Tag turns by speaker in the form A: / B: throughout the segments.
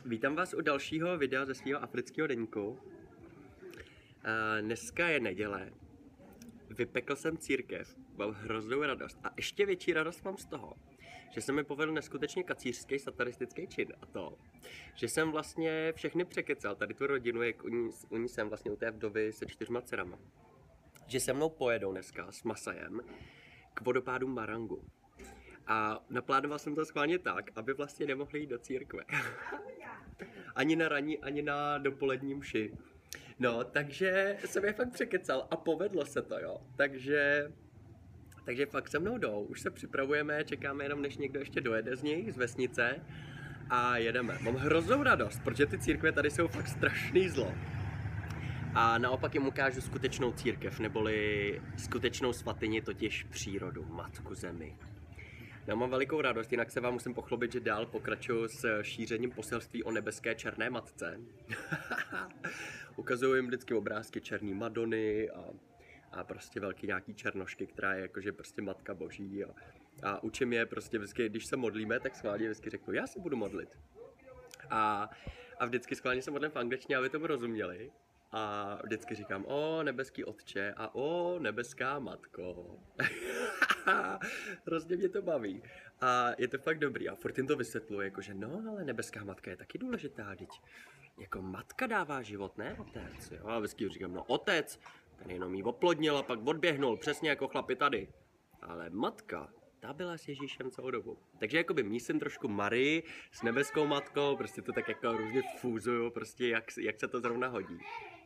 A: Vítám vás u dalšího videa ze svého afrického deníku. Dneska je neděle. Vypekl jsem církev, mám hroznou radost a ještě větší radost mám z toho, že se mi povedl neskutečně kacířský satanistický čin a to, že jsem vlastně všechny překecal, tady tu rodinu, jak u ní jsem vlastně u té vdovy se 4 dcerama, že se mnou pojedou dneska s Masajem k vodopádu Marangu. A naplánoval jsem to schválně tak, aby vlastně nemohli jít do církve. Ani na ranní, ani na dopolední mši. No, takže jsem je fakt překecal a povedlo se to, jo. Takže fakt se mnou jdou, už se připravujeme, čekáme jenom, než někdo ještě dojede z nich, z vesnice a jedeme. Mám hroznou radost, protože ty církve tady jsou fakt strašný zlo. A naopak jim ukážu skutečnou církev, neboli skutečnou svatyni, totiž přírodu, Matku Zemi. Já mám velikou radost, jinak se vám musím pochlubit, že dál pokračuju s šířením poselství o nebeské černé matce. Ukazuju jim vždycky obrázky černý Madony a prostě velký nějaký černošky, která je jakože prostě Matka Boží. A učím je prostě vždycky, když se modlíme, tak schválně vždycky řeknu, já se budu modlit. A vždycky schválně se modlím v angličtině, aby tomu rozuměli. A vždycky říkám, o nebeský otče a o nebeská matko. Hrozně mě to baví. A je to fakt dobrý. A furt jim to vysvětluji, jakože no, ale nebeská matka je taky důležitá, teď. Jako matka dává život, ne otec. Jo? A vždycky říkám, no otec, ten jenom jí oplodnil a pak odběhnul, přesně jako chlapi tady. Ale matka, ta byla s Ježíšem celou dobu. Takže jakoby mísím trošku Marii s nebeskou matkou, prostě to tak jako různě fúzuju, prostě jak se to zrovna hodí.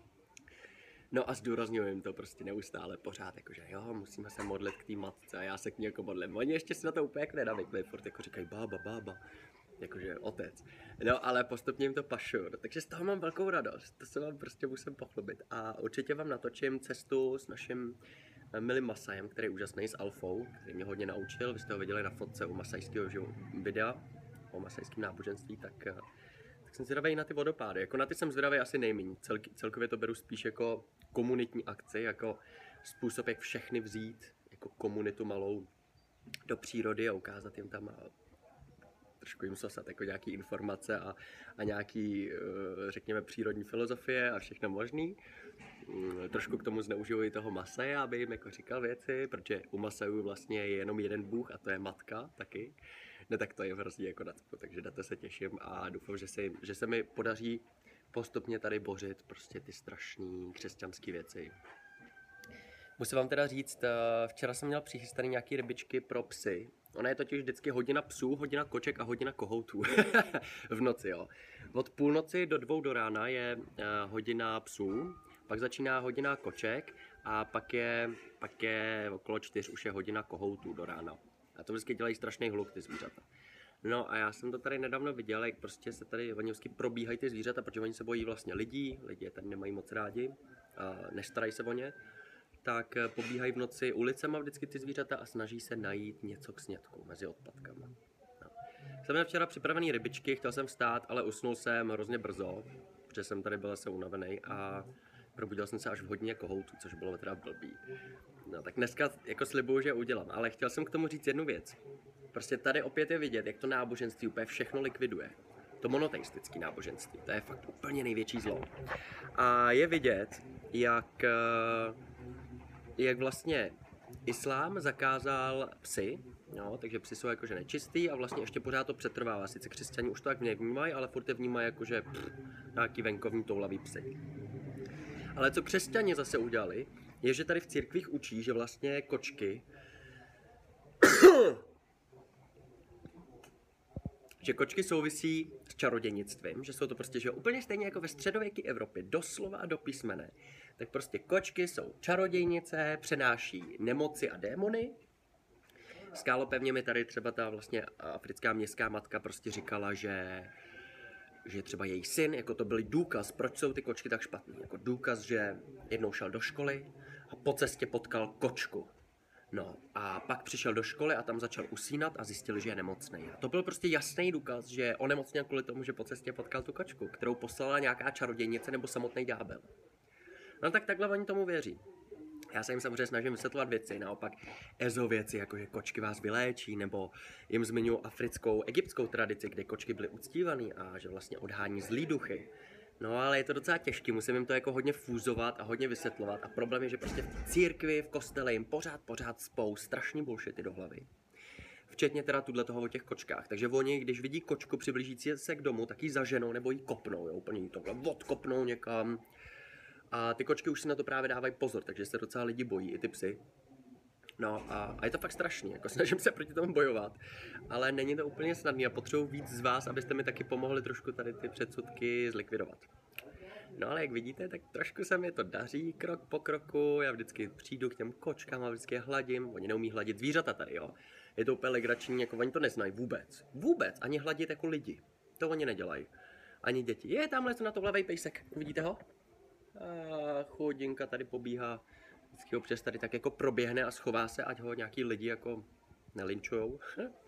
A: No a zdůrazňuji jim to prostě neustále pořád, jakože jo, musíme se modlit k té matce a já se k ní jako modlím. Oni ještě si na to úplně jako nenavykli, furt jako říkají bába, jakože otec. No ale postupně jim to pašuju, takže z toho mám velkou radost, to se vám prostě musím pochlubit. A určitě vám natočím cestu s naším milým Masajem, který je úžasný, s Alfou, který mě hodně naučil, vy jste ho viděli na fotce u masajského videa o masajském náboženství, tak jsem zvědavý na ty vodopády. Jako na ty jsem zvědavý asi nejméně. Celkově to beru spíš jako komunitní akci, jako způsob, jak všechny vzít, jako komunitu malou do přírody a ukázat jim tam a trošku jim sosat jako nějaký informace a nějaký, řekněme, přírodní filozofie a všechno možný. Trošku k tomu zneužiju i toho Masaje, aby jim jako říkal věci, protože u Masajů vlastně je jenom jeden bůh a to je matka taky. No tak to je hrozně jako nacpu, takže na to se těším a doufám, že se mi podaří postupně tady bořit prostě ty strašné křesťanské věci. Musím vám teda říct, včera jsem měl přichystaný nějaký rybičky pro psy. Ona je totiž vždycky hodina psů, hodina koček a hodina kohoutů. V noci, jo. Od půlnoci do 2 do rána je hodina psů, pak začíná hodina koček a pak je okolo 4 už je hodina kohoutů do rána. A to vždycky dělají strašný hluk ty zvířata. No a já jsem to tady nedávno viděl, jak prostě se tady oni vždycky probíhají ty zvířata, protože oni se bojí vlastně lidí je tady nemají moc rádi, nestarají se o ně, tak pobíhají v noci ulicema vždycky ty zvířata a snaží se najít něco k snědku mezi odpadkama. No. Jsem měl včera připravený rybičky, chtěl jsem vstát, ale usnul jsem hrozně brzo, protože jsem tady byl zase unavený a probudil jsem se až v hodině kohoutů, což bylo teda blbý. No tak dneska jako slibuju, že udělám, ale chtěl jsem k tomu říct jednu věc. Prostě tady opět je vidět, jak to náboženství úplně všechno likviduje. To monoteistické náboženství, to je fakt úplně největší zlo. A je vidět, jak vlastně islám zakázal psy, no, takže psy jsou jakože nečistý a vlastně ještě pořád to přetrvává. Sice křesťani už to tak nevnímají, ale furt je vnímají jakože nějaký venkovní toulavý psy. Ale co křesťani zase udělali, je, že tady v církvích učí, že vlastně kočky že kočky souvisí s čarodějnictvím, že jsou to prostě, že úplně stejně jako ve středověké Evropě, doslova a do písmene, tak prostě kočky jsou čarodějnice, přenáší nemoci a démony. Skálopevně mi tady třeba ta vlastně africká městská matka prostě říkala, že třeba její syn, jako to byl důkaz, proč jsou ty kočky tak špatný. Jako důkaz, že jednou šel do školy a po cestě potkal kočku. No a pak přišel do školy a tam začal usínat a zjistil, že je nemocný. A to byl prostě jasný důkaz, že onemocněl kvůli tomu, že po cestě potkal tu kočku, kterou poslala nějaká čarodějnice nebo samotný ďábel. No tak takhle oni tomu věří. Já se jim samozřejmě snažím vysvětlovat věci, naopak ezo věci, jako že kočky vás vyléčí, nebo jim zmiňuji africkou, egyptskou tradici, kde kočky byly uctívaný a že vlastně odhání zlý duchy. No ale je to docela těžký, musím jim to jako hodně fúzovat a hodně vysvětlovat a problém je, že prostě v církvi, v kostele jim pořád spou strašný bullshity do hlavy. Včetně teda toho o těch kočkách. Takže oni, když vidí kočku přiblížící se k domu, tak ji zaženou nebo ji kopnou, jo, úplně jí tohle odkopnou někam. A ty kočky už si na to právě dávají pozor, takže se docela lidi bojí, i ty psy. No a je to fakt strašný, jako snažím se proti tomu bojovat, ale není to úplně snadný a potřebuji víc z vás, abyste mi taky pomohli trošku tady ty předsudky zlikvidovat. No ale jak vidíte, tak trošku se mi to daří, krok po kroku, já vždycky přijdu k těm kočkám a vždycky je hladím, oni neumí hladit zvířata tady, jo. Je to úplně legrační, jako oni to neznají vůbec, ani hladit jako lidi, to oni nedělají, ani děti. Je, tamhle na to levej pejsek, vidíte ho? A chudinka tady pobíhá, vždycky ho přes tady tak jako proběhne a schová se, ať ho nějaký lidi jako nelinčujou.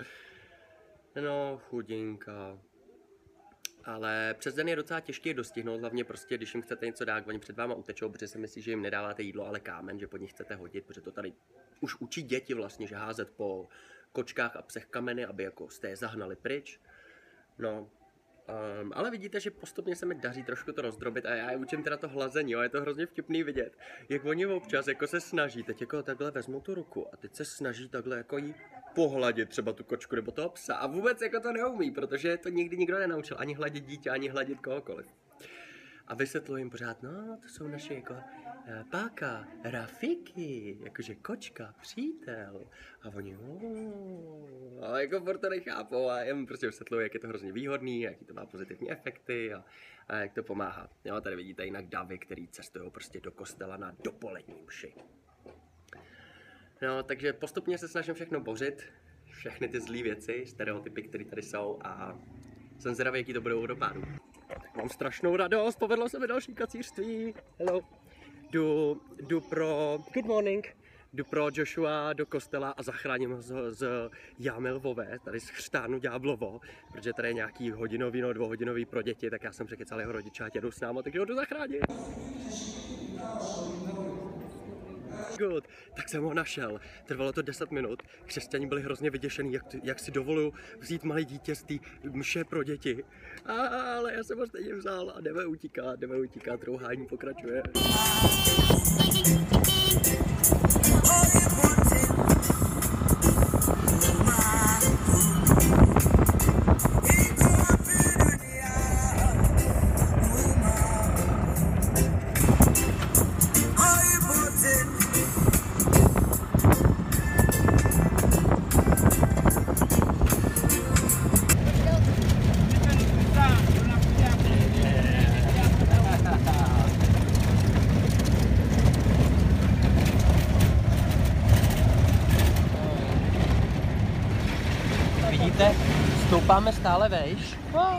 A: No, chudinka. Ale přes den je docela těžké je dostihnout, hlavně prostě, když jim chcete něco dát, oni před váma utečou, protože si myslí, že jim nedáváte jídlo, ale kámen, že pod nich chcete hodit, protože to tady už učí děti vlastně, že házet po kočkách a psech kameny, aby jako jste je zahnali pryč. No, ale vidíte, že postupně se mi daří trošku to rozdrobit a já je učím teda to hlazení, jo, je to hrozně vtipný vidět, jak oni občas jako se snaží, teď jako takhle vezmou tu ruku a teď se snaží takhle jako jí pohladit třeba tu kočku nebo toho psa a vůbec jako to neumí, protože to nikdy nikdo nenaučil, ani hladit dítě, ani hladit kohokoliv. A vysvětluji jim pořád, no to jsou naše jako páka, Rafiki, jakože kočka, přítel. A oni, ale jako furt to nechápou a já jim prostě vysvětluji, jak je to hrozně výhodný, jaký to má pozitivní efekty a jak to pomáhá. Jo, tady vidíte jinak davy, který cestují prostě do kostela na dopolední mši. No, takže postupně se snažím všechno bořit, všechny ty zlý věci, stereotypy, které tady jsou a jsem zvědavý, jaký to budou dopadu. Mám strašnou radost, povedlo se mi další kacířství. Hello. Jdu pro good morning. Jdu pro Joshua do kostela a zachráním ho z jámy lvové, tady z chřtánu ďáblovo, protože tady je nějaký hodinový, no 2hodinový pro děti, tak já jsem překecal jeho rodiče, ať jedou s námi, takže ho jdu zachránit. Good. Tak jsem ho našel. Trvalo to 10 minut. Křesťané byli hrozně vyděšený, jak si dovoluju vzít malé dítě z té mše pro děti. Ale já jsem ho stejně vzal a jdeme utíkat, rouhání pokračuje. Vidíte, stoupáme stále vejš.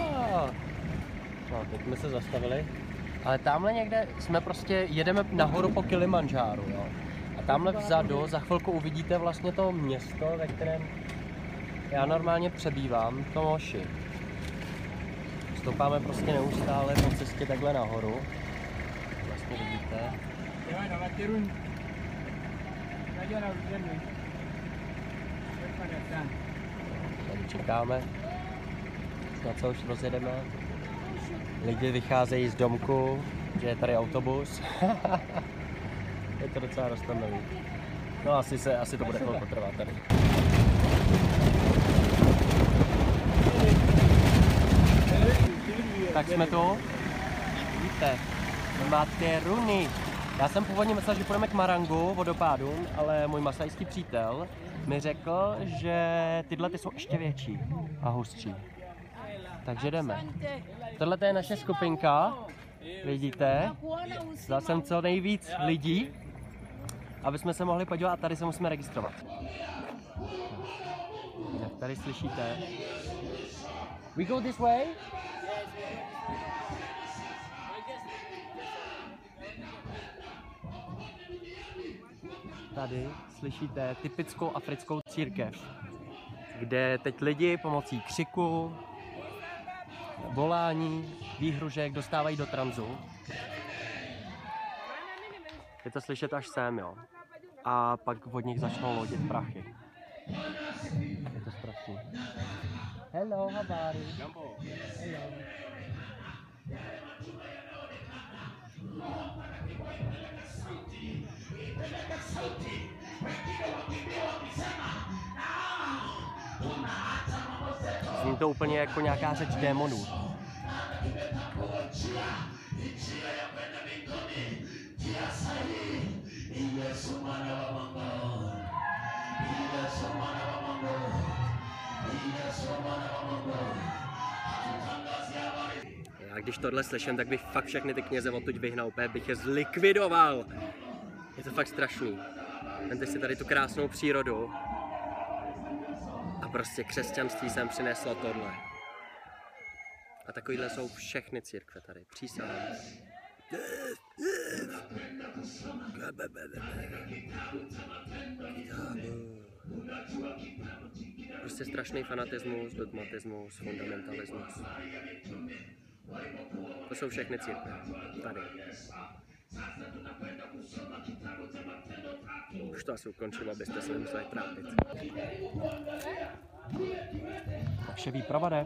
A: No, teď jsme se zastavili. Ale tamhle někde jsme prostě, jedeme nahoru po Kilimandžáru, jo. A tamhle vzadu za chvilku uvidíte vlastně to město, ve kterém já normálně přebývám, to Moši. Stoupáme prostě neustále po cestě takhle nahoru. Vlastně vidíte. Tady čekáme, na co už rozjedeme. Lidi vycházejí z domku, že je tady autobus. Je to docela roztomilý. No asi to bude chvilku trvat tady. Tak jsme tu. Víte, máte runy. Já jsem původně myslel, že půjdeme k Marangu, vodopádům, ale můj masajský přítel mi řekl, že tyhle ty jsou ještě větší a hustší. Takže jdeme. Tohle je naše skupinka, vidíte. Dal jsem co nejvíc lidí, aby jsme se mohli podívat a tady se musíme registrovat. Tak tady slyšíte. We go this way? Tady slyšíte typickou africkou církev, kde teď lidi pomocí křiku, volání, výhružek dostávají do tranzu. Je to slyšet až sem, jo. A pak od nich začnou lodit prachy. Je to strašný. Hello, Habari. Jumbo. Hello. Zní to úplně jako nějaká řeč démonů. Já když tohle slyším, tak bych fakt všechny ty kněze odtud vyhnal, úplně bych je zlikvidoval. Je to fakt strašný. Vemte si tady tu krásnou přírodu. A prostě křesťanství sem přineslo tohle. A takovýhle jsou všechny církve tady, přísahám. Prostě strašný fanatismus, dogmatismus, fundamentalismus. To jsou všechny církve. Tady. Už to asi ukončím, abyste se nemuseli trápit. Takže výprava jde.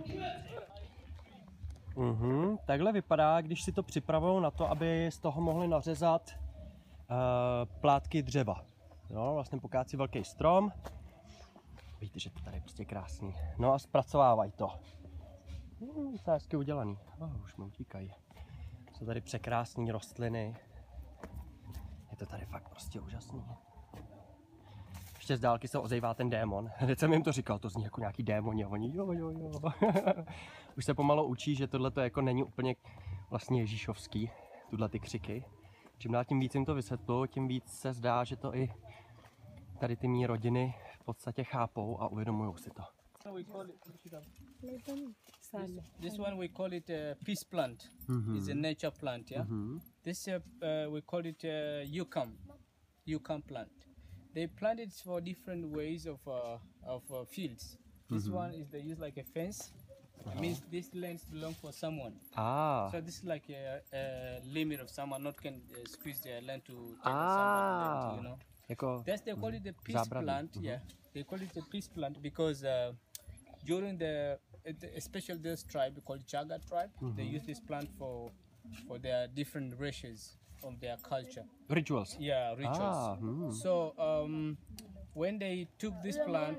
A: Takhle vypadá, když si to připravují na to, aby z toho mohli nařezat plátky dřeva. Jo, vlastně pokácí velký strom. Víte, že to tady je prostě krásný. No a zpracovávají to. To je hezky udělaný. Už mi utíkají. Jsou tady překrásné rostliny. Je to tady fakt prostě úžasný. Ještě z dálky se ozývá ten démon. Teď jsem jim to říkal, to zní jako nějaký démoni a oni jo. Už se pomalu učí, že tohle to jako není úplně vlastně ježíšovský, tuhle ty křiky. Čím dál tím víc jim to vysvětluji, tím víc se zdá, že to i tady ty mý rodiny v podstatě chápou a uvědomují si to.
B: This one we call it a peace plant. It's a nature plant, yeah. This we call it yucca plant. They plant it for different ways of fields. This one is they use like a fence. It means this lands belong for someone. So this is like a limit of someone not can squeeze their land to take someone land, you know. That's they call it the peace plant. Yeah, they call it the peace plant because during especially this tribe called Chaga tribe, they use this plant for their different races of their culture.
A: Rituals.
B: Yeah, rituals. So when they took this plant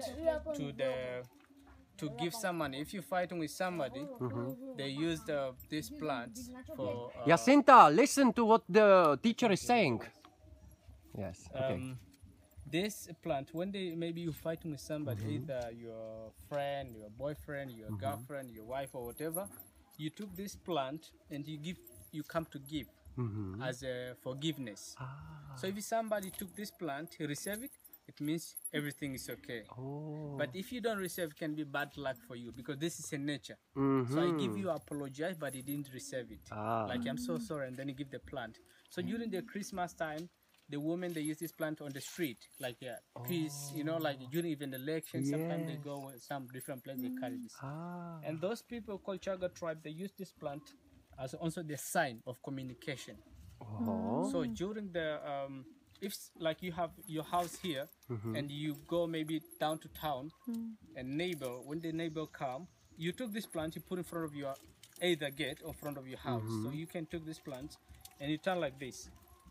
B: to give someone, if you're fighting with somebody, they used this plant for.
A: Jacinta, listen to what the teacher is saying. Yes. Okay.
B: This plant, when maybe you're fighting with somebody, either your friend, your boyfriend, your girlfriend, your wife, or whatever, you took this plant and you come to give as a forgiveness. So if somebody took this plant, receive it, it means everything is okay. But if you don't receive, it can be bad luck for you because this is a nature. So I give you apologize, but he didn't receive it. Like I'm so sorry, and then you give the plant. So during the Christmas time, the women they use this plant on the street, like peace, you know, like during even the election, sometimes they go some different place they carry this. And those people called Chaga tribe, they use this plant as also the sign of communication. So during the if like you have your house here and you go maybe down to town and when the neighbor come, you took this plant, you put in front of your either gate or front of your house. So you can take this plant and you turn like this.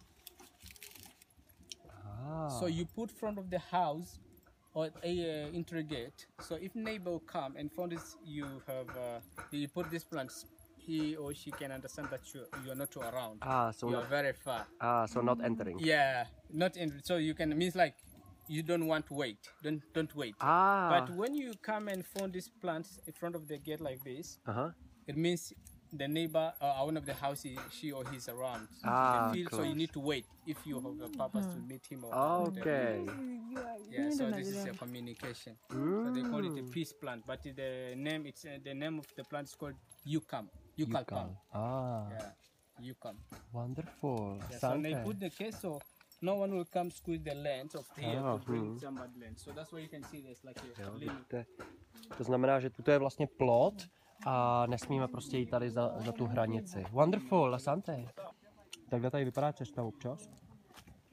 B: So you put front of the house or entry gate. So if neighbor come and found this, you put this plant, he or she can understand that you are not around.
A: So
B: you are very far.
A: So not entering.
B: Yeah, not entering. So you can means like you don't want to wait. Don't wait. But when you come and find this plant in front of the gate like this, it means the neighbor one of the house she or he's around. So you need to wait if you have a purpose to meet him or
A: okay.
B: Yeah, so this is a communication. So they call it a peace plant, but the name of the plant is called yucca palm. Yeah, yucca.
A: Wonderful.
B: Yeah, so they put the case so no one will come squeeze the land of here to bring somebody land. So that's why you can see there's like a limit.
A: To znamená, že tuto je vlastně plot a nesmíme prostě jít tady za tu hranici. Wonderful, asante. Takhle tady vypadá cesta občas.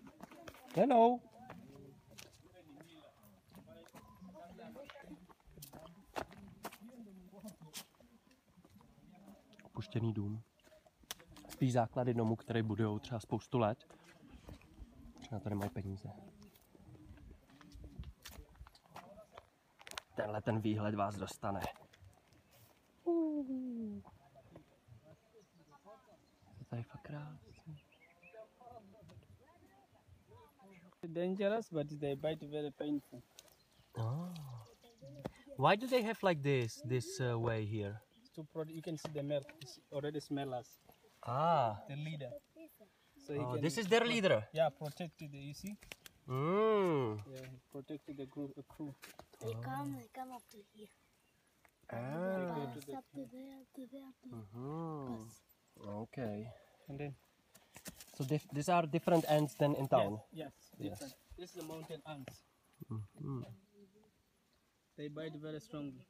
A: Hello. Opuštěný dům. Spíš základy domu, které budujou třeba spoustu let. Třeba to nemají peníze. Tenhle ten výhled vás dostane. To tady fakt krásný.
B: Dangerous, but they bite very painful.
A: Oh. Why do they have like this way here?
B: You can see the milk. It's already smell us.
A: Ah,
B: The leader. So he
A: this is their leader.
B: Yeah, protected. You see?
A: Mm.
B: Yeah, he protected the crew.
C: They come up to here.
A: Ah.
B: Go to the
C: Up to there, to there, to
A: Mhm. Okay.
B: and then
A: So these are different ends than in town.
B: yes, different. This is the mountain ants.
A: Mhm.
B: They bite very strongly.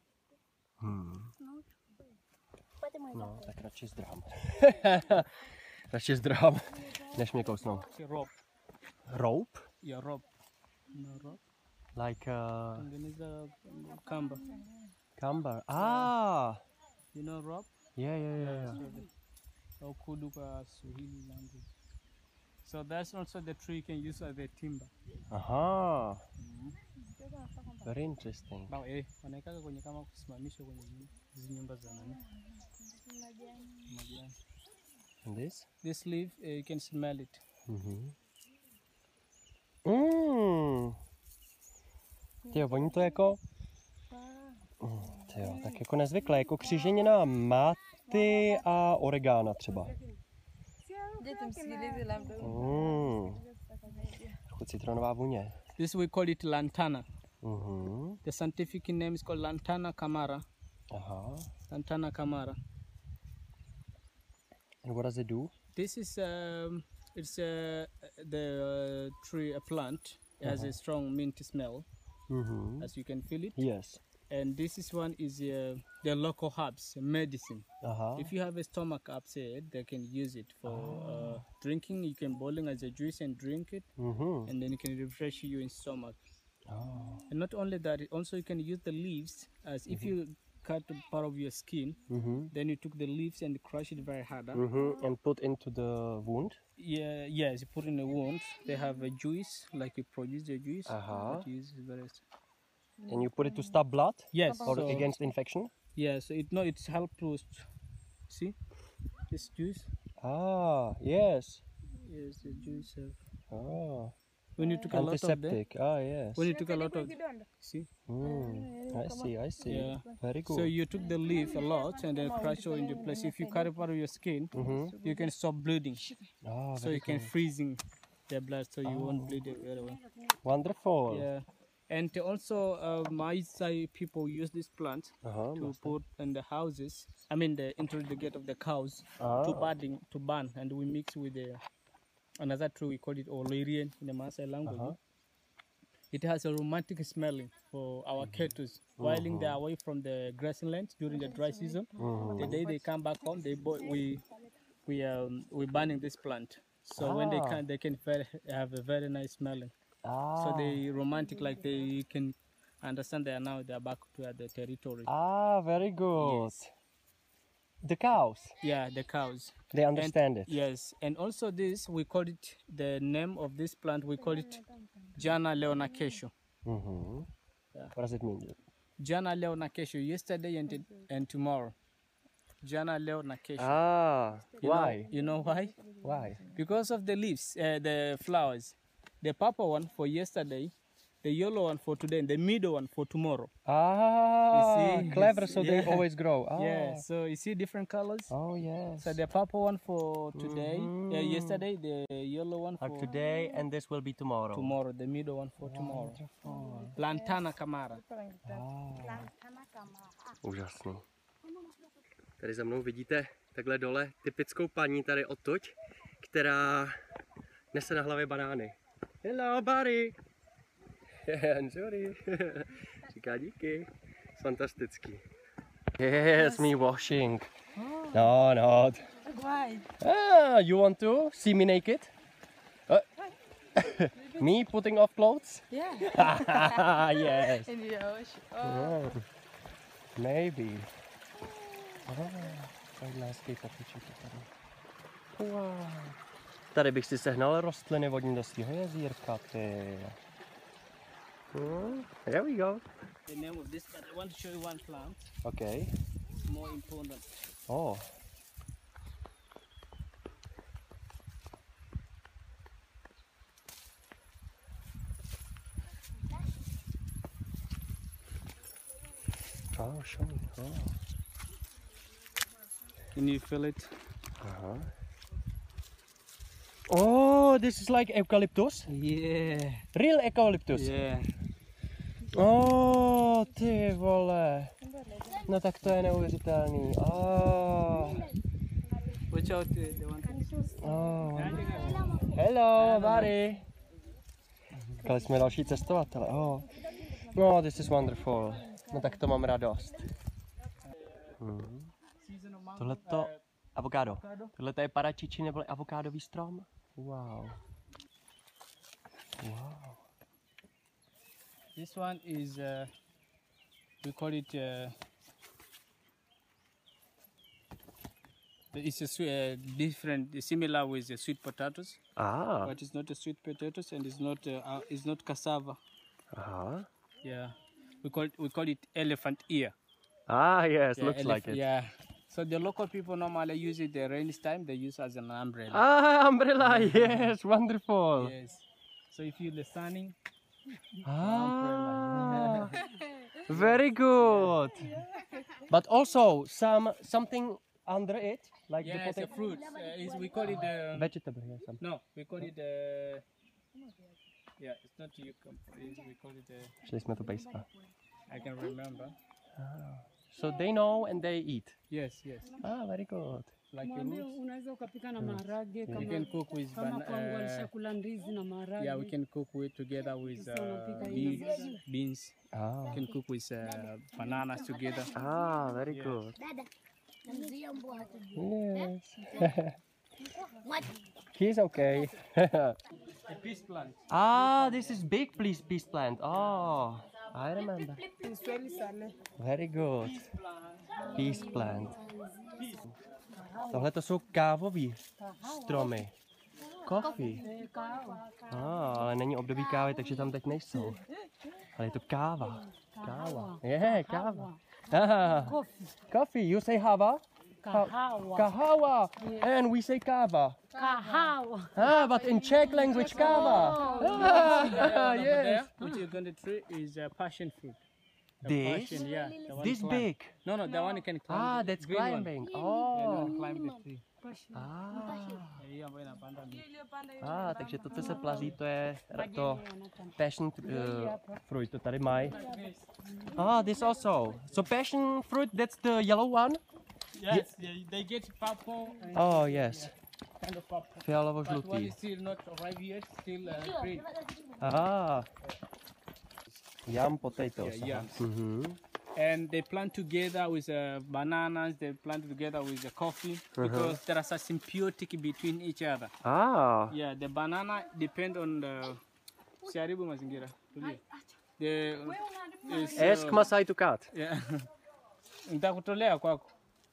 A: No, tak radši zdrhám. Radši zdrhám, než mě kousnou.
B: See, rope.
A: Rope?
B: Yeah, rope. No rope.
A: Like
B: And then is the camber.
A: camber. Ah!
B: You know rope?
A: Yeah.
B: Or Kuduka Swahili language. So that's also the tree you can use as a timber.
A: Aha. Very interesting.
B: Bao wanaikaga kwenye kama kusimamisha kwenye hizi nyumba za nani? Majani.
A: And this?
B: This leaf you can smell it.
A: Tyjo, voní to jako... Tyjo, tak jako nezvyklé, jako kříženina máty a oregana třeba. Trochu citronová vůně.
B: This we call it lantana. The scientific name is called Lantana camara.
A: Aha.
B: Lantana camara.
A: And what does it do?
B: This is it's the tree, a plant. It has a strong minty smell, as you can feel it.
A: Yes.
B: And this is one is the local herbs, medicine.
A: Aha.
B: If you have a stomach upset, they can use it for drinking. You can boil it as a juice and drink it, and then it can refresh your stomach.
A: Oh.
B: And not only that, also you can use the leaves as if you cut a part of your skin, then you took the leaves and crush it very hard.
A: And put into the wound?
B: Yeah, yes, you put in a wound. They have a juice, like you produce the juice.
A: Uh-huh.
B: But you use very
A: And you put it to stop blood?
B: yes,
A: Or
B: so,
A: against infection?
B: yeah. So it's help to see this juice.
A: Ah, yes.
B: Yes, the juice.
A: Ah.
B: When you took a lot of them,
A: Antiseptic. Ah, yes.
B: when you took a lot of, see,
A: I see.
B: yeah.
A: Very good.
B: So you took the leaf a lot and then crush it into place. If you cut a part of your skin, you can stop bleeding.
A: Ah,
B: So you can freezing the blood, so you won't bleed it very well.
A: wonderful.
B: Yeah, and also my side people use this plant
A: Uh-huh.
B: to put in the houses. I mean, into the gate of the cows
A: Ah.
B: to burn, and we mix with another tree. We call it Olerian in the Maasai language. It has a romantic smelling for our cattle. While they are away from the grazing land during the dry season, the day they come back home, we burning this plant. So when they can have a very nice smelling.
A: Ah.
B: So they romantic, like they can understand they are back to the territory.
A: Ah, very good.
B: Yes.
A: The cows,
B: Yeah, the cows.
A: they understand it.
B: Yes, and also this we call it, the name of this plant we call it Jana leonakesho. Yeah.
A: What does it mean?
B: Jana leonakesho, yesterday and tomorrow. Jana leonakesho.
A: Ah, why?
B: You know why?
A: Why?
B: Because of the leaves, the flowers. The purple one for yesterday, the yellow one for today, and the middle one for tomorrow.
A: Ah,
B: see,
A: clever, so they
B: yeah.
A: always grow. Ah.
B: Yeah, so you see different colors.
A: Oh, yes.
B: So the purple one for today, yesterday, the yellow one for
A: today, and this will be tomorrow.
B: tomorrow, the middle one for tomorrow. Lantana camara.
A: Úžasný. Tady za mnou vidíte takhle dole typickou paní tady odtud, která nese na hlavě banány. Hello, buddy! Sorry. Říká díky. Fantastický. Yes, me washing. No, not.
C: Why?
A: Ah, you want to see me naked? Me putting off clothes?
D: Yeah.
A: Yes.
D: In the ocean. Oh.
A: Oh, maybe. Oh, tady hezký popiček je tady. Wow. Tady bych si sehnal rostliny vodní do svého jezírka, ty. Here we go.
B: The name of this, but I want to show you one plant.
A: Okay.
B: It's more important.
A: Oh. Oh, show me. Oh.
B: Can you feel it?
A: Uh-huh. Oh, this is like eucalyptus?
B: Yeah.
A: Real eucalyptus?
B: Yeah.
A: Oh, ty vole. No tak to je neuvěřitelný. Oh.
B: Watch out, the one.
A: Oh. Hello, Mari. Říkali jsme další cestovatele. Oh. No, this is wonderful. No tak to mám radost. Tohleto avokádo. Tohle je paračiči nebo avokádový strom? Wow. Wow.
B: This one is, we call it, it's different, similar with the sweet potatoes,
A: Ah.
B: but it's not a sweet potatoes and it's not cassava.
A: Aha.
B: Yeah, we call it elephant ear.
A: Ah, yes,
B: Yeah,
A: looks like it.
B: Yeah. So the local people normally use it the rainy time. They use as an umbrella.
A: Ah, umbrella, yes, wonderful.
B: Yes. So if you're sunning,
A: Ah, very good. But also something under it, like
B: yeah,
A: the
B: it's a
A: potato.
B: fruit. We call it
A: Vegetable, yes.
B: no, we call it yeah, it's not cucumber. We call it
A: Šli jsme to pejska.
B: I can remember.
A: So they know and they eat.
B: Yes, yes.
A: Ah, very good.
B: Like a
E: Mwambie
B: roots.
E: unaweza ukapika na maharage
B: You
E: kama
B: can cook with
E: kama kwangu alishakula ndizi na maharage.
B: yeah, we can cook with together with
E: Sasa unapika hivi.
B: beans.
A: Ah,
B: You can cook with bananas together.
A: ah, very good.
C: Dada, namzuia mbwa hata.
A: Yes.
C: What?
A: He's okay.
B: A peace plant.
A: Ah, this is big peace plant. Oh, I remember.
E: Kiswahili sale.
A: Very good. Peace plant. Tohle to jsou kávový stromy. Coffee. Ale není období kávy, takže tam teď nejsou. Ale je to káva. Káva. Je, káva. Ah,
E: Coffee.
A: coffee. You say hava?
E: Kahawa.
A: Kahawa. And we say kava.
E: Kahawa.
A: Ah, but in Czech language, kava. Ah,
B: Over
A: yes.
B: there, which you're going to try is passion fruit. The
A: This?
B: passion, yeah. The one
A: This
B: climb.
A: big.
B: No, the one you can climb.
A: Ah,
B: the
A: that's
B: green one.
A: climbing.
B: Yeah, the
A: Oh.
B: one climb the tree.
A: Ah.
B: Hiyo ambayo inapanda miti.
A: Ah, takže to, co se plazí, to je to passion fruit, to tady mají. Ah, this also. So passion fruit, that's the yellow one?
B: Yes, they get purple and
A: Oh, yes.
B: kind of purple. But one
A: Fialovo-žlutý.
B: is still not arrived yet, still green.
A: Ah. Yam potatoes.
B: Yeah, yams.
A: Mhm.
B: And they plant together with bananas, they plant together with the coffee because there is a symbiotic between each other.
A: Ah.
B: Yeah, the banana depend on the siharibu mazingira. Tulia. The is,
A: Ask Masai to cut.
B: yeah. Nitakutolea kwako.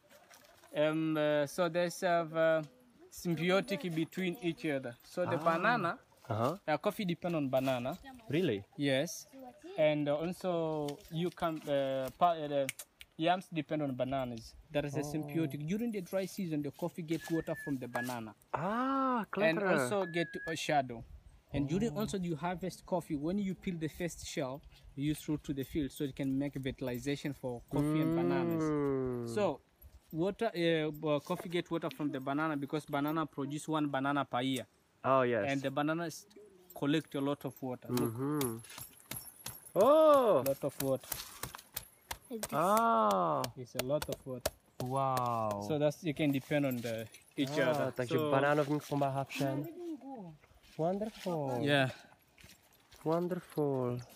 B: So there's a symbiotic between each other. So the banana,
A: Uh-huh.
B: coffee depend on banana.
A: Really?
B: Yes, and also you can the yams depend on bananas. There is a symbiotic. During the dry season, the coffee gets water from the banana
A: Ah,
B: and
A: clever.
B: also get a shadow. And during also you harvest coffee, when you peel the first shell, you throw to the field so you can make fertilization for coffee and bananas.
A: Mm.
B: So water, coffee get water from the banana because banana produce one banana per year,
A: Oh, yes.
B: and the bananas collect a lot of water. Look,
A: Mhm. Oh.
B: a lot of water.
A: Ah.
B: It's a lot of water.
A: Wow.
B: So that's you can depend on each other.
A: Takže
B: So,
A: banánovník pomáhá všem. Wonderful.
B: yeah.
A: Wonderful.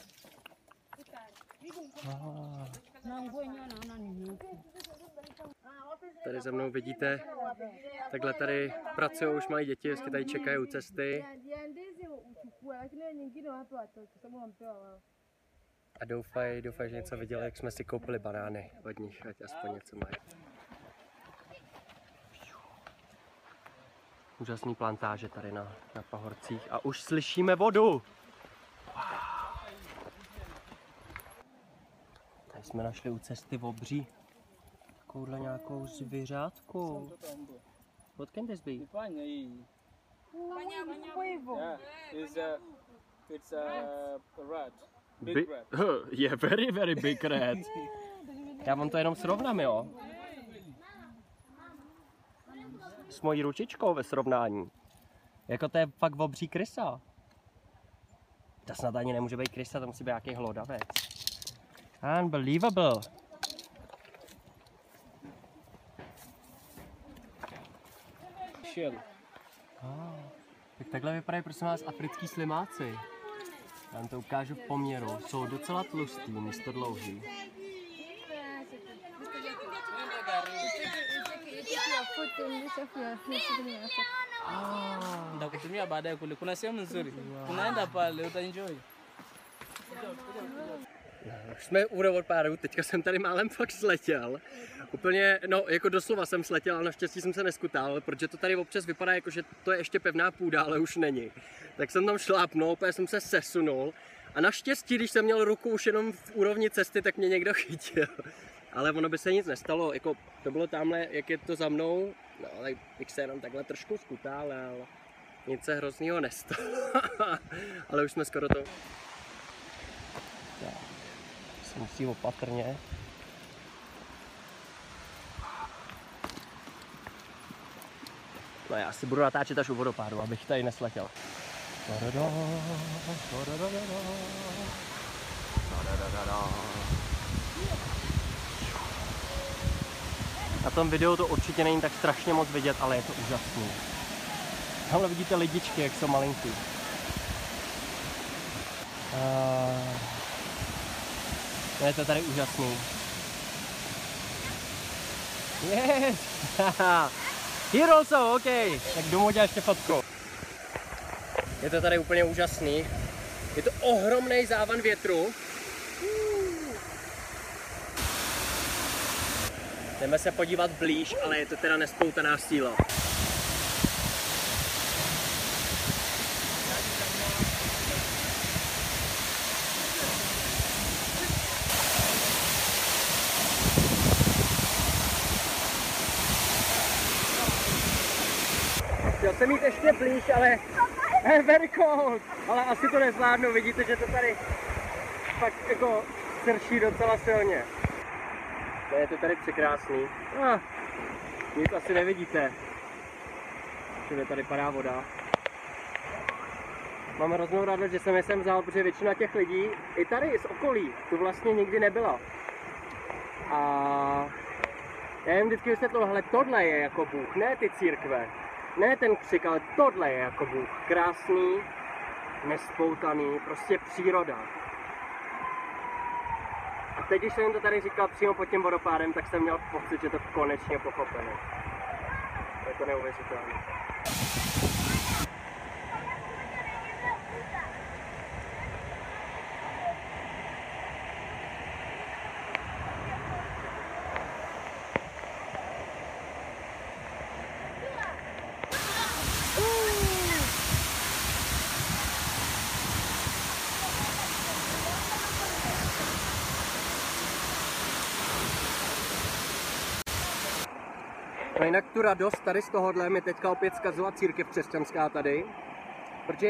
E: Na nguo yenyewe naona ni nyeupe.
A: Tady za mnou vidíte, takhle tady pracují už malí děti, vždycky tady čekají u cesty. A doufaj, že něco viděli, jak jsme si koupili banány od nich, ať aspoň něco mají. Úžasný plantáže tady na pahorcích a už slyšíme vodu. Wow. Tady jsme našli u cesty obří takovouhle nějakou zvířátku. What can this be?
B: Yeah, it's a rat. Big rat.
A: Yeah, very big rat. Já vám to jenom srovnám, jo? S mojí ručičkou ve srovnání. Jako to je fakt obří krysa. To snad ani nemůže být krysa, to musí být nějaký hlodavec. Unbelievable.
B: Shell.
A: Tak takhle vypadají, prosím vás, africký slimáci. Já vám to ukážu v poměru. Jsou docela tlustý, místo dlouhý.
B: Nitakutumia baadaye kule. Kuna sehemu nzuri. Tunaenda pale, utaenjoy.
A: Už jsme u vodopádu, teďka jsem tady málem fakt sletěl. Úplně, no jako doslova jsem sletěl, ale naštěstí jsem se neskutal, protože to tady občas vypadá jako, že to je ještě pevná půda, ale už není. Tak jsem tam šlápnul, úplně jsem se sesunul a naštěstí, když jsem měl ruku už jenom v úrovni cesty, tak mě někdo chytil. Ale ono by se nic nestalo, jako to bylo tamhle, jak je to za mnou, no tak bych se jenom takhle trošku skutal, ale nic se hroznýho nestalo. Ale už jsme skoro to... Se musí opatrně. No já si budu natáčet až u vodopádu, abych tady nesletěl. Na tom videu to určitě není tak strašně moc vidět, ale je to úžasný. Tamhle vidíte lidičky, jak jsou malinký. Je to tady úžasný. Yes! Here also, OK. Tak domů dělá ještě fotku. Je to tady úplně úžasný. Je to ohromný závan větru. Jdeme se podívat blíž, ale je to teda nespoutaná síla. Chtěl jsem jít ještě blíž, ale very cold. Ale asi to nezvládnu, vidíte, že to tady fakt jako srší docela silně. Je to tady překrásný. Nic asi nevidíte. Všude tady padá voda. Mám hroznou radost, že jsem je sem vzal, protože většina těch lidí, i tady z okolí, tu vlastně nikdy nebyla. A já jim vždycky vysvětlil, hele, tohle je jako Bůh, ne ty církve. Ne ten křik, ale tohle je jako Bůh. Krásný, nespoutaný, prostě příroda. A teď, když jsem jim to tady říkal přímo pod tím vodopádem, tak jsem měl pocit, že to konečně pochopili. Je to neuvěřitelné. No jinak tu radost tady z tohohle mi teďka opět zkazila církev křesťanská tady, protože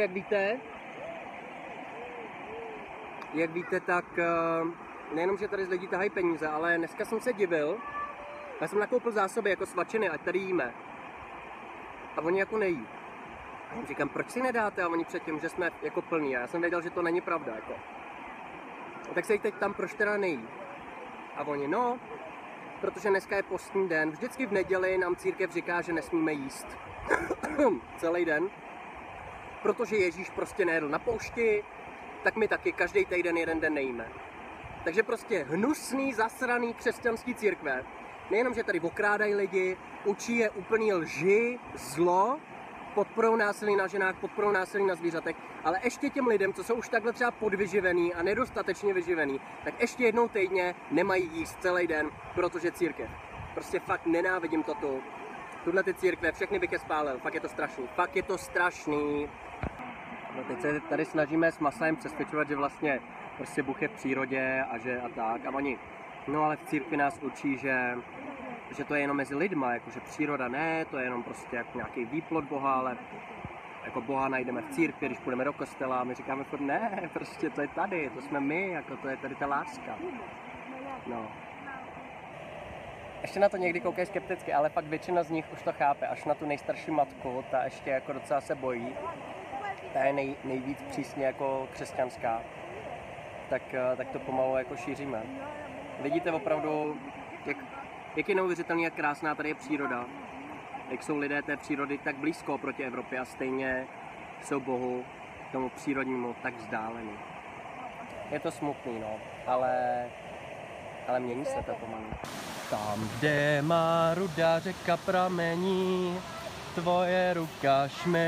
A: jak víte, tak nejenom, že tady z lidí tahají peníze, ale dneska jsem se divil, já jsem nakoupil zásoby jako svačiny, ať tady jíme. A oni jako nejí. A jim říkám, proč si nedáte? A oni předtím, že jsme jako plní. A já jsem věděl, že to není pravda. Jako. A tak se jí teď tam, proč teda nejí? A oni, no, protože dneska je postní den. Vždycky v neděli nám církev říká, že nesmíme jíst. Celý den. Protože Ježíš prostě nejedl na poušti, tak my taky každý týden jeden den nejíme. Takže prostě hnusný, zasraný křesťanský církve. Nejenom, že tady okrádají lidi, učí je úplný lži, zlo podporou násilí na ženách, podporou násilí na zvířatech, ale ještě těm lidem, co jsou už takhle třeba podvyživený a nedostatečně vyživený, tak ještě jednou týdně nemají jíst celý den, protože církev. Prostě fakt nenávidím to tu. Tuhle ty církve, všechny bych je spálil, fakt je to strašný, fakt je to strašný. No teď se tady snažíme s Masajem přesvědčovat, že vlastně prostě Bůh je v přírodě a že a tak. A oni, no ale v církvi nás učí, že to je jenom mezi lidma, jakože příroda ne, to je jenom prostě jako nějaký výplod Boha, ale jako Boha najdeme v církvi, když půjdeme do kostela a my říkáme furt ne, prostě to je tady, to jsme my, jako to je tady ta láska. No. Ještě na to někdy koukají skepticky, ale pak většina z nich už to chápe, až na tu nejstarší matku, ta ještě jako docela se bojí, ta je nejvíc přísně jako křesťanská, tak to pomalu jako šíříme. Vidíte opravdu, jak je neuvěřitelný, jak krásná tady je příroda, jak jsou lidé té přírody tak blízko proti Evropě a stejně jsou Bohu, tomu přírodnímu, tak vzdálení. Je to smutný, no, ale mění se to pomalu. Tam, kde má ruda řeka pramení, tvoje ruka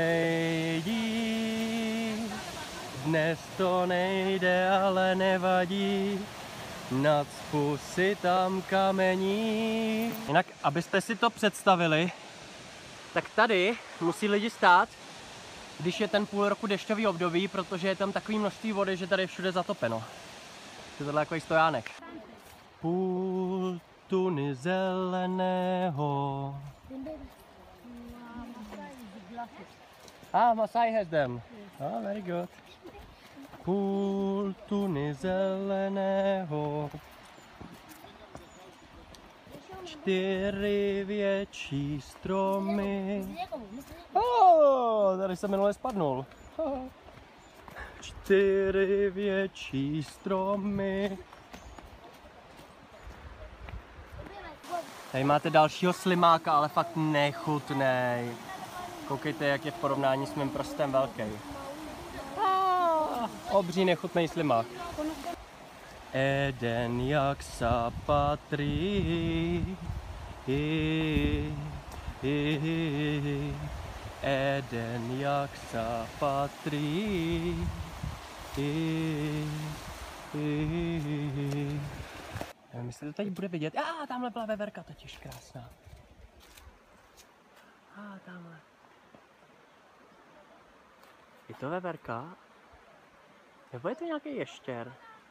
A: šmejdí. Dnes to nejde, ale nevadí, nacpu si tam kamení. Jinak, abyste si to představili, tak tady musí lidi stát, když je ten půl roku dešťový období, protože je tam takový množství vody, že tady je všude zatopeno. To je tohle jako stojánek. Půl tuny zeleného. Masai has them. Oh, very good. Půl tuny zeleného. 4 větší stromy. Tady jsem minule spadnul. 4 větší stromy. Tady máte dalšího slimáka, ale fakt nechutnej. Koukejte, jak je v porovnání s mým prstem velký. Obří nechutnej slimák. Eden jak sa patří. Eden jak sa patří. Nevím, jestli to teď bude vidět. Tamhle byla veverka totiž krásná. Tamhle. Je to veverka? Nebo je to nějaký ještěr?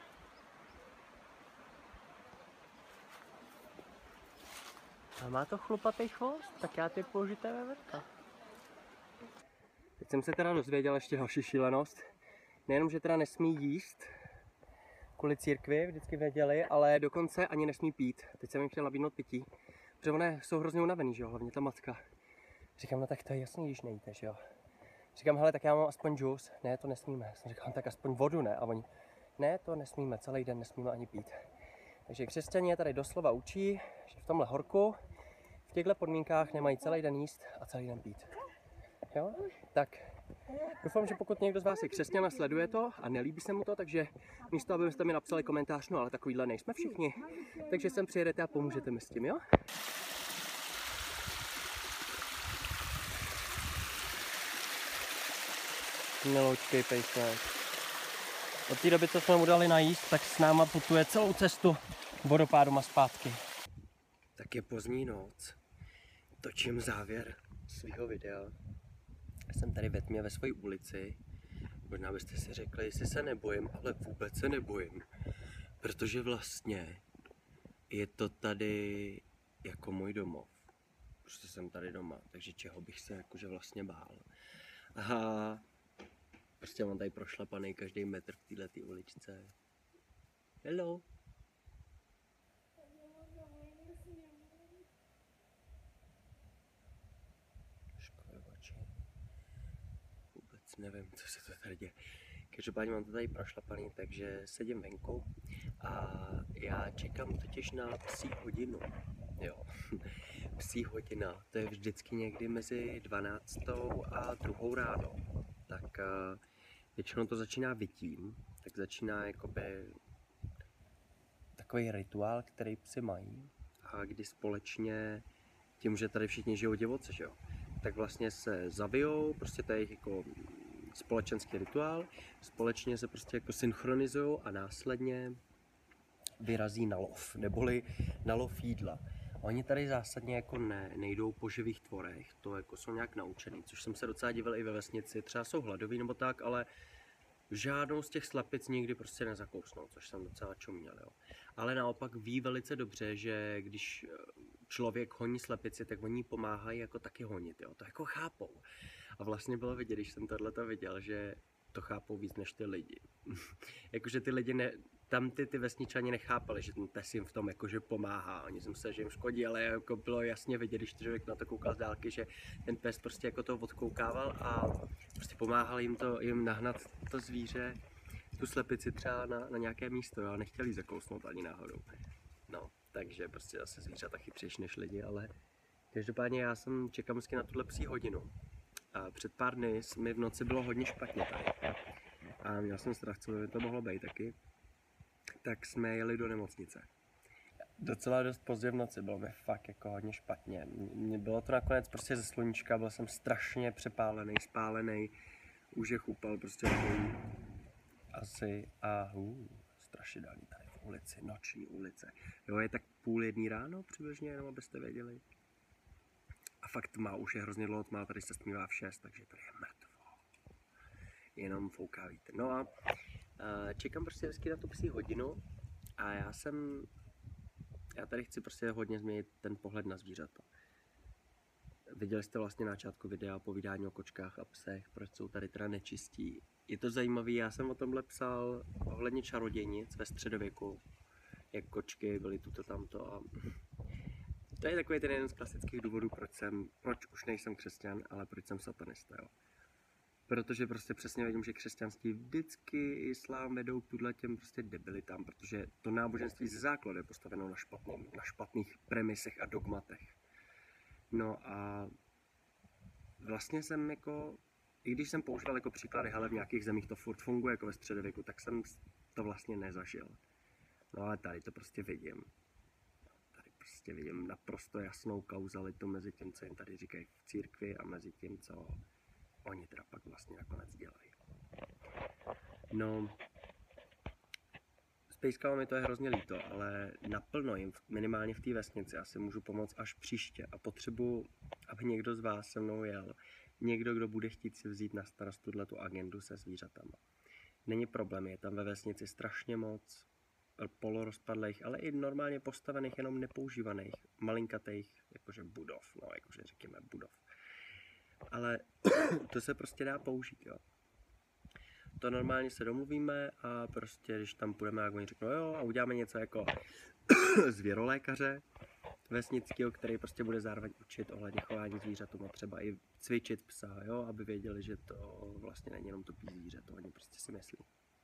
A: A má to chlupatý chvost, tak já typuju, že to je veverka. Teď jsem se teda dozvěděl ještě další šílenost. Nejenom, že teda nesmí jíst kvůli církvi, vždycky věděli, ale dokonce ani nesmí pít. Teď jsem jim chtěl nabídnout pití, protože oni jsou hrozně unavený, že jo, hlavně ta matka. Říkám, no tak to je jasný, když nejíte, že jo. Říkám, hele, tak já mám aspoň džus. Ne, to nesmíme. Jsem říkal, tak aspoň vodu, ne? A oni, ne, to nesmíme, celý den nesmíme ani pít. Takže křesťané je tady doslova učí, že v tomhle horku, v těchto podmínkách nemají celý den jíst a celý den pít. Jo? Tak doufám, že pokud někdo z vás je křesťan a sleduje to a nelíbí se mu to, takže místo, abyste mi napsali komentář, no ale takovýhle nejsme všichni, takže sem přijedete a pomůžete mi s tím, jo? Miloučkej pejsek. Od té doby, co jsme mu dali najíst, tak s náma putuje celou cestu vodopádem a zpátky. Tak je pozdní noc. Točím závěr svého videa. Jsem tady ve tmě ve své ulici. Možná byste si řekli, jestli se nebojím, ale vůbec se nebojím. Protože vlastně je to tady jako můj domov. Prostě jsem tady doma, takže čeho bych se jakože vlastně bál. A prostě mám tady prošlapaný každý metr v této uličce. Hello. Vůbec nevím, co se to tady děje. Každopádně mám to tady prošlapaný, takže sedím venku a já čekám totiž na psí hodinu. Jo, psí hodina, to je vždycky někdy mezi 12. a 2. ráno. Tak většinou to začíná vytím, tak začíná jakoby takový rituál, který psi mají a kdy společně tím, že tady všichni žijou divoce, že jo, tak vlastně se zabijou, prostě to je jejich jako společenský rituál, společně se prostě jako synchronizují a následně vyrazí na lov, neboli na lov jídla. Oni tady zásadně jako nejdou po živých tvorech, to jako jsou nějak naučený, což jsem se docela divil i ve vesnici, třeba jsou hladoví nebo tak, ale žádnou z těch slepic nikdy prostě nezakousnou, což jsem docela čuměl, jo. Ale naopak ví velice dobře, že když člověk honí slepici, tak oni pomáhají jako taky honit, jo, to jako chápou. A vlastně bylo vidět, když jsem tohleto viděl, že to chápou víc než ty lidi. Jakože ty lidi tam ty vesničani nechápali, že ten pes jim v tom jakože pomáhá. Oni si mysleli, že jim škodí, ale jako bylo jasně vidět, když člověk na to koukal z dálky, že ten pes prostě jako to odkoukával a prostě pomáhal jim nahnat to zvíře, tu slepici třeba na nějaké místo, jo, a nechtěli zakousnout ani náhodou. No, takže prostě zase zvířata chytřejší než lidi, ale každopádně já jsem čekal na tuhle psí hodinu. A před pár dny mi v noci bylo hodně špatně tady. A měl jsem strach, co by to mohlo být taky. Tak jsme jeli do nemocnice. Docela dost pozdě v noci, bylo mi fakt jako hodně špatně. Mně bylo to nakonec prostě ze sluníčka, byl jsem strašně přepálený, spálený. Úžeh upal prostě asi a strašidelný tady v ulici, noční ulice. Jo, je tak 12:30 ráno přibližně, jenom abyste věděli. A fakt tma, už je hrozně dlouho tma, tady se stmívá v 6, takže tady je mrtvo. Jenom fouká vítr. No a čekám prostě vždycky na tu psí hodinu a já tady chci prostě hodně změnit ten pohled na zvířata. Viděli jste vlastně na začátku videa povídání o kočkách a psech, proč jsou tady teda nečistí. Je to zajímavé, já jsem o tomhle psal ohledně čarodějnic ve středověku, jak kočky byly tuto tamto a to je takový ten jeden z klasických důvodů, proč už nejsem křesťan, ale proč jsem satanista, jo. Protože prostě přesně vidím, že křesťanství vždycky islám vedou k těm prostě debilitám, protože to náboženství ze základu je postaveno na špatných premisech a dogmatech. No a vlastně jsem jako, i když jsem používal jako příklady, hele, v nějakých zemích to furt funguje jako ve středověku, tak jsem to vlastně nezažil. No ale tady to prostě vidím. Tady prostě vidím naprosto jasnou kauzalitu mezi tím, co jim tady říkají v církvi a mezi tím, co oni teda pak vlastně nakonec dělají. No, s pejskama mi to je hrozně líto, ale naplno jim, minimálně v té vesnici, asi můžu pomoct až příště a potřebuji, aby někdo z vás se mnou jel. Někdo, kdo bude chtít si vzít na starost tu agendu se zvířatama. Není problém, je tam ve vesnici strašně moc polorozpadlých, ale i normálně postavených, jenom nepoužívaných, malinkatých, jakože budov, no jakože řekněme budov. Ale to se prostě dá použít, jo. To normálně se domluvíme a prostě, když tam půjdeme, jak oni řeknou, jo, a uděláme něco jako zvěrolékaře vesnického, který prostě bude zároveň učit ohledně chování zvířatům a třeba i cvičit psa, jo, aby věděli, že to vlastně není jenom tupý zvíře, to oni prostě si myslí.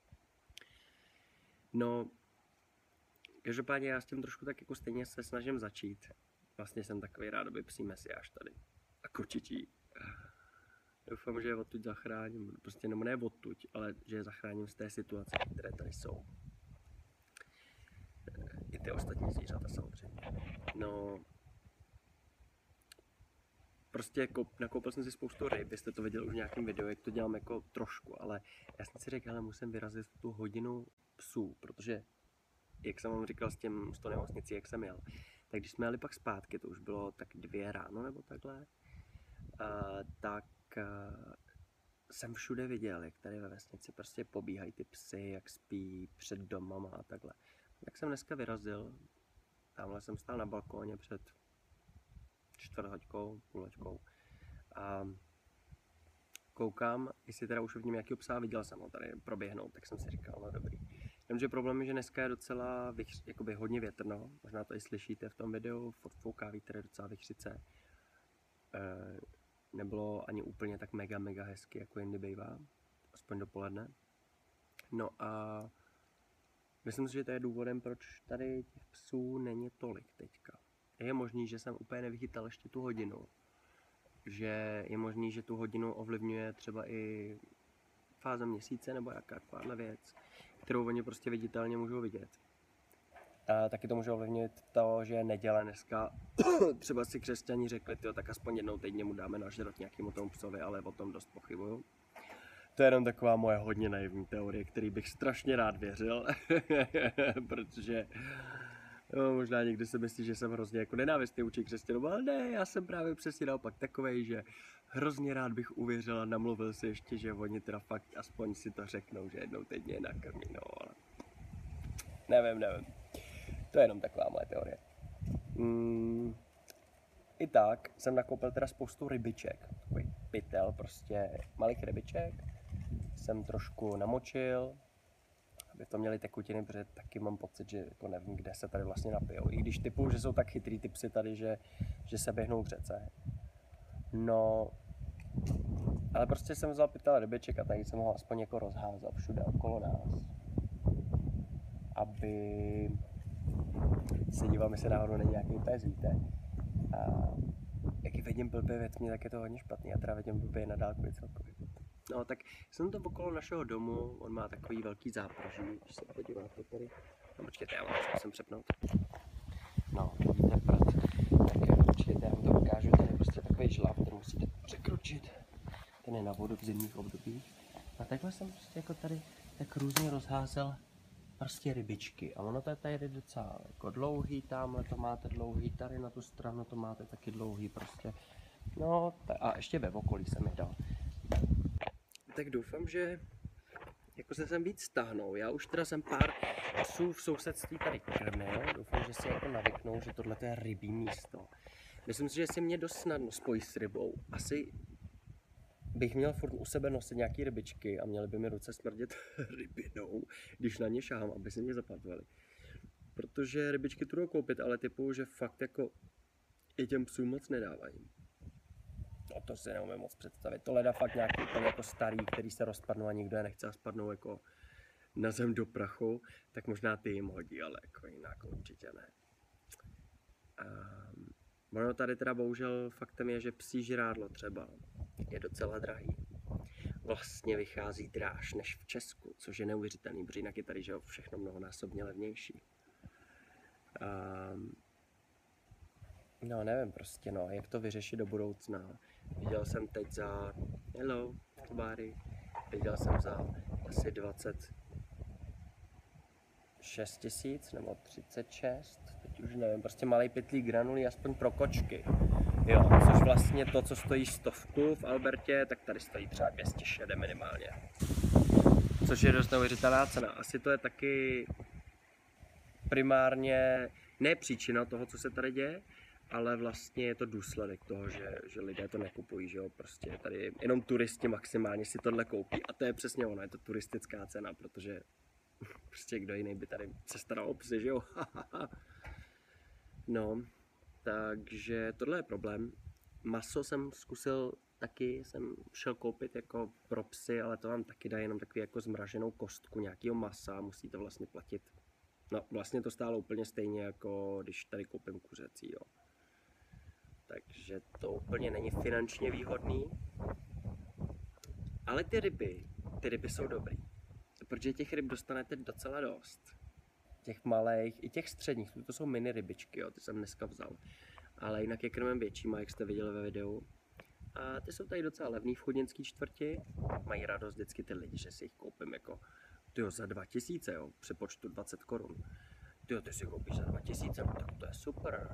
A: No, každopádně já s tím trošku tak jako stejně se snažím začít. Vlastně jsem takový rádoby psí mesiáš tady. A kočičí. Doufám, že je odtud zachráním. Prostě nebo ne odtud, ale že je zachráním z té situace, které tady jsou. I ty ostatní zvířata samozřejmě. No, prostě nakoupil jsem si spoustu ryb, vy jste to viděli už v nějakém videu, jak to dělám jako trošku, ale já jsem si řekl, ale musím vyrazit tu hodinu psů, protože, jak jsem vám říkal s tou nemocnicí, jak jsem jel, tak když jsme jeli pak zpátky, to už bylo tak 2 ráno nebo takhle, tak jsem všude viděl, jak tady ve vesnici prostě pobíhají ty psy, jak spí před domama a takhle. Tak jsem dneska vyrazil, tamhle jsem stál na balkóně před 4:00, 5:30 a koukám, jestli teda už vidím nějakého psa, viděl jsem ho tady proběhnout, tak jsem si říkal, no dobrý. Jenomže problém je, že dneska je docela jakoby hodně větrno, možná to i slyšíte v tom videu, fouká vítr, je docela vichřice. Nebylo ani úplně tak mega hezky, jako jindy bývá, aspoň dopoledne. No a myslím si, že to je důvodem, proč tady těch psů není tolik teďka. Je možný, že jsem úplně nevychytal ještě tu hodinu. Že je možný, že tu hodinu ovlivňuje třeba i fáze měsíce nebo jakákoliv věc, kterou oni prostě viditelně můžou vidět. A taky to může ovlivnit to, že je neděle dneska. Třeba si křesťani řekli, tyjo, tak aspoň jednou týdně mu dáme nažrat nějakému tomu psovi, ale o tom dost pochybuju. To je jenom taková moje hodně naivní teorie, který bych strašně rád věřil, protože no, možná někdy si myslí, že jsem hrozně jako nenávistný vůči křesťanům, ale ne, já jsem právě přesně naopak takovej, že hrozně rád bych uvěřil a namluvil si ještě, že oni teda fakt aspoň si to řeknou, že jednou týdně je nakrmí, no, ale nevím. To je jenom taková moje teorie. I tak jsem nakoupil teda spoustu rybiček, takový pytel prostě malých rybiček. Jsem trošku namočil, aby to měli tekutiny, protože taky mám pocit, že jako nevím, kde se tady vlastně napijou. I když typu, že jsou tak chytrý ty psy tady, že se běhnou v řece. No, ale prostě jsem vzal pytel rybiček a tady jsem ho aspoň jako rozházal všude okolo nás. Aby se dívám, jestli náhodou není nějaký pes, víte. A jak vidím blbě ve tmě, tak je to hodně špatný. Já teda vidím blbě na dálku celkově. No, tak jsem to okolo našeho domu, on má takový velký zápraží, když se podíváte tady. No, počkejte, já vám to zkusím přepnout. No, vidíte prd. Tak počkejte, já vám to ukážu, ten je prostě takový žlav, který musíte překročit. Ten je na vodu v zimních obdobích. A takhle jsem prostě jako tady tak různě rozházel prostě rybičky. A ono to je tady docela jako dlouhý, tamhle to máte dlouhý, tady na tu stranu to máte taky dlouhý prostě. No, a ještě ve okolí jsem je dal. Tak doufám, že jako se sem víc stáhnou. Já už teda jsem pár psů v sousedství tady krmil. Doufám, že si jako navyknou, že tohle je rybí místo. Myslím si, že si mě dost snadno spojí s rybou. Asi bych měl furt u sebe nosit nějaký rybičky a měly by mi ruce smrdět rybinou, když na ně šáhám, aby se mě zapatovali. Protože rybičky tu jdou koupit, ale typu, že fakt jako i těm psům moc nedávají. No to si neumím moc představit. To leda fakt nějaký úplně jako starý, který se rozpadnou a nikdo je nechce a spadnou jako na zem do prachu, tak možná ty jim hodí, ale jako jinak určitě ne. Ono tady teda bohužel faktem je, že psí žrádlo třeba je docela drahý. Vlastně vychází dráž než v Česku, což je neuvěřitelný, protože jinak je tady že všechno mnohonásobně levnější. No nevím prostě no, jak to vyřešit do budoucna. Viděl jsem teď za, hello, kubáry, viděl jsem za asi 26 000 nebo 36, teď už nevím, prostě malej pytlík granulí aspoň pro kočky. Jo, což vlastně to, co stojí 100 v Albertě, tak tady stojí třeba 260 minimálně. Což je dost neuvěřitelná cena. Asi to je taky primárně ne příčina toho, co se tady děje, ale vlastně je to důsledek toho, že lidé to nekupují, že jo, prostě tady jenom turisti maximálně si tohle koupí a to je přesně ono, je to turistická cena, protože prostě kdo jiný by tady se staral o psy, že jo. No, takže tohle je problém. Maso jsem zkusil taky, jsem šel koupit jako pro psy, ale to vám taky dá jenom takový jako zmraženou kostku nějakého masa, musíte vlastně platit. No, vlastně to stálo úplně stejně, jako když tady koupím kuřecí, jo. Takže to úplně není finančně výhodný. Ale ty ryby jsou dobrý. Protože těch ryb dostanete docela dost. Těch malých, i těch středních, to jsou mini rybičky, jo, ty jsem dneska vzal. Ale jinak je krmem většíma, jak jste viděli ve videu. A ty jsou tady docela levný v chudnický čtvrti. Mají radost vždycky ty lidi, že si jich koupím jako tyjo, za 2000, jo, při počtu 20 korun. Tyjo, ty si koupíš za 2000, no, tak to je super.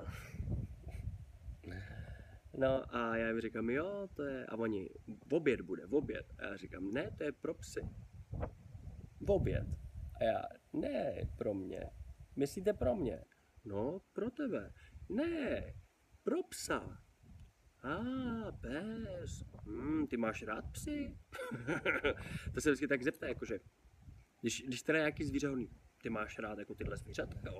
A: No a já jim říkám, jo, to je, a oni, v oběd bude, v oběd. A já říkám, ne, to je pro psy. V oběd. A já, ne, pro mě. Myslíte pro mě? No, pro tebe. Ne, pro psa. Pes. Ty máš rád psy? To se vždycky tak zeptá, jakože, když teda nějaký zvíře hodný, ty máš rád jako tyhle zvířata, jo?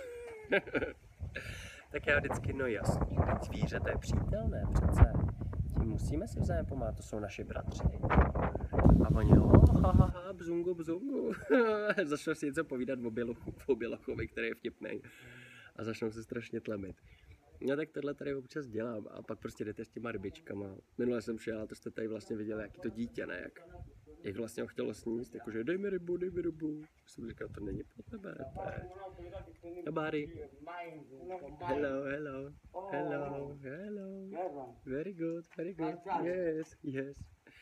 A: Tak já vždycky, no jasně, teď zvíře, to je přítel, ne přece. Tím musíme si vzájem pomáhat, to jsou naši bratři. A oni, bzungu. Začnou si něco povídat o bělochovi, který je vtipnej. A začnou se strašně tlemit. No tak tohle tady občas dělám a pak prostě jdete s těma rybičkama. Minule jsem šel a to jste tady vlastně viděli, jaký to dítě, ne? jak vlastně ho chtělo sníst, jakože dej mi rybu. Jsem říkal, to není pro tebe, to je... Nobody. Hello. Very good. Yes.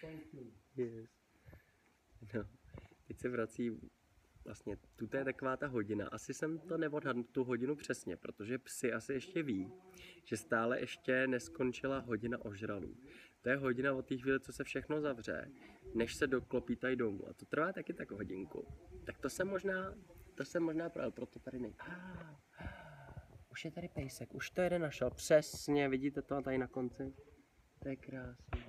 A: No, teď se vrací vlastně, tuto je taková ta hodina. Asi jsem to neodhadl tu hodinu přesně, protože psi asi ještě ví, že stále ještě neskončila hodina ožralů. To je hodina od té chvíle, co se všechno zavře, než se doklopítají domů. A to trvá taky tak hodinku. Tak to jsem možná právě, proto tady nej... Už je tady pejsek, už to jeden našel. Přesně, vidíte to tady na konci? To je krásný.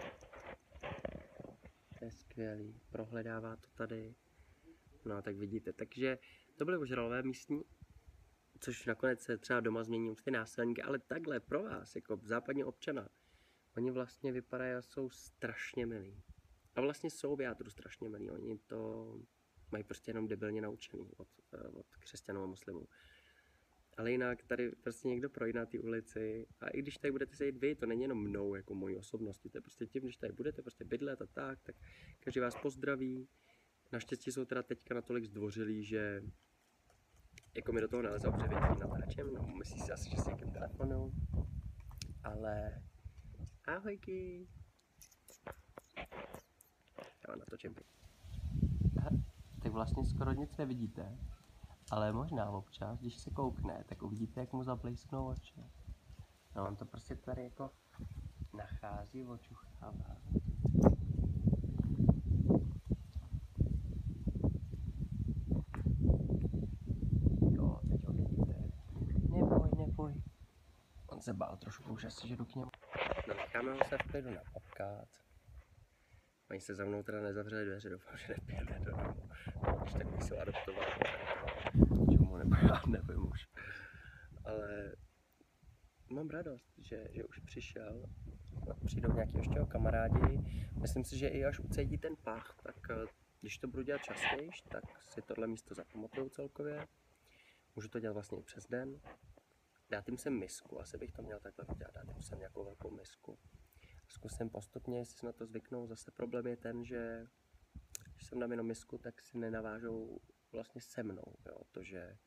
A: To je skvělý, prohledává to tady. No, tak vidíte, takže to byly ožralové místní, což nakonec se třeba doma změní už ty násilníky, ale takhle pro vás, jako západní občana, oni vlastně vypadají a jsou strašně milí. A vlastně jsou v jádru strašně milí, oni to mají prostě jenom debilně naučený od křesťanů a muslimů. Ale jinak tady prostě někdo projde na té ulici a i když tady budete sedět vy, to není jenom mnou, jako mojí osobností, to je prostě tím, když tady budete prostě bydlet a tak každý vás pozdraví. Naštěstí jsou teda teďka natolik zdvořilí, že jako mi do toho nalezou, protože vědí natáčem, no myslí si asi, že s někým telefonu, ale ahojky. Já vám natočím. Tak vlastně skoro nic nevidíte, ale možná občas, když se koukne, tak uvidíte, jak mu zablísknou oči. No on to prostě tady jako nachází, očuchává. Jo, teď ho vidíte. Neboj. On se bál trošku už asi, že jdu k němu. No necháme ho se v klidu napotkat. Oni se za mnou teda nezavřeli dveře, doufám, že nepějde do domu. Když tak bych se adoptoval. Čemu nebo já nevím už. Ale mám radost, že už přišel. Přijdou nějaký ještě kamarádi. Myslím si, že i až ucítí ten pach, tak když to budu dělat častěji, tak si tohle místo zapamatuju celkově. Můžu to dělat vlastně i přes den. Dát jim sem misku, asi bych to měl takhle udělat, dát jim sem nějakou velkou misku. Zkusím postupně, jestli si na to zvyknou. Zase problém je ten, že když jsem dám jenom misku, tak si nenavážou vlastně se mnou, jo? To,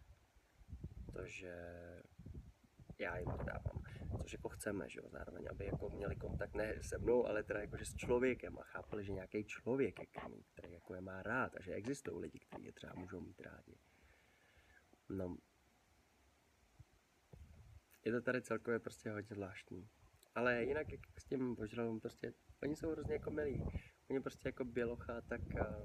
A: že já jim to dávám, což jako chceme, že jo, zároveň, aby jako měli kontakt ne se mnou, ale teda jakože s člověkem a chápali, že nějaký člověk je krmí, který jako je má rád a že existují lidi, kteří je třeba můžou mít rádi. No, je to tady celkově prostě hodně zvláštní. Ale jinak jak s tím ožralům prostě, oni jsou hrozně jako milí. Oni prostě jako bělocha, tak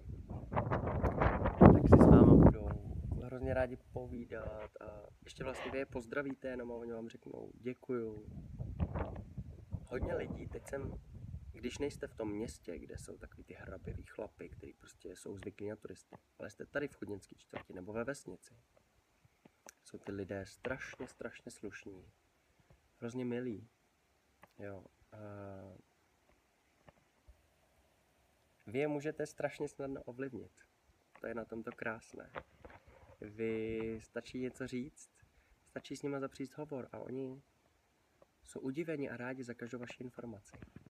A: si s váma budou hrozně rádi povídat a ještě vlastně vy je pozdravíte, jenom a oni vám řeknou děkuju. Hodně lidí, když nejste v tom městě, kde jsou takový ty hraběví chlapy, kteří prostě jsou zvyklí na turisty, ale jste tady v Chudnické čtvrti nebo ve vesnici, jsou ty lidé strašně slušní, hrozně milí. Jo, vy je můžete strašně snadno ovlivnit. To je na tomto krásné. Vy stačí něco říct, stačí s nima zapřít hovor a oni jsou udiveni a rádi za každou vaši informaci.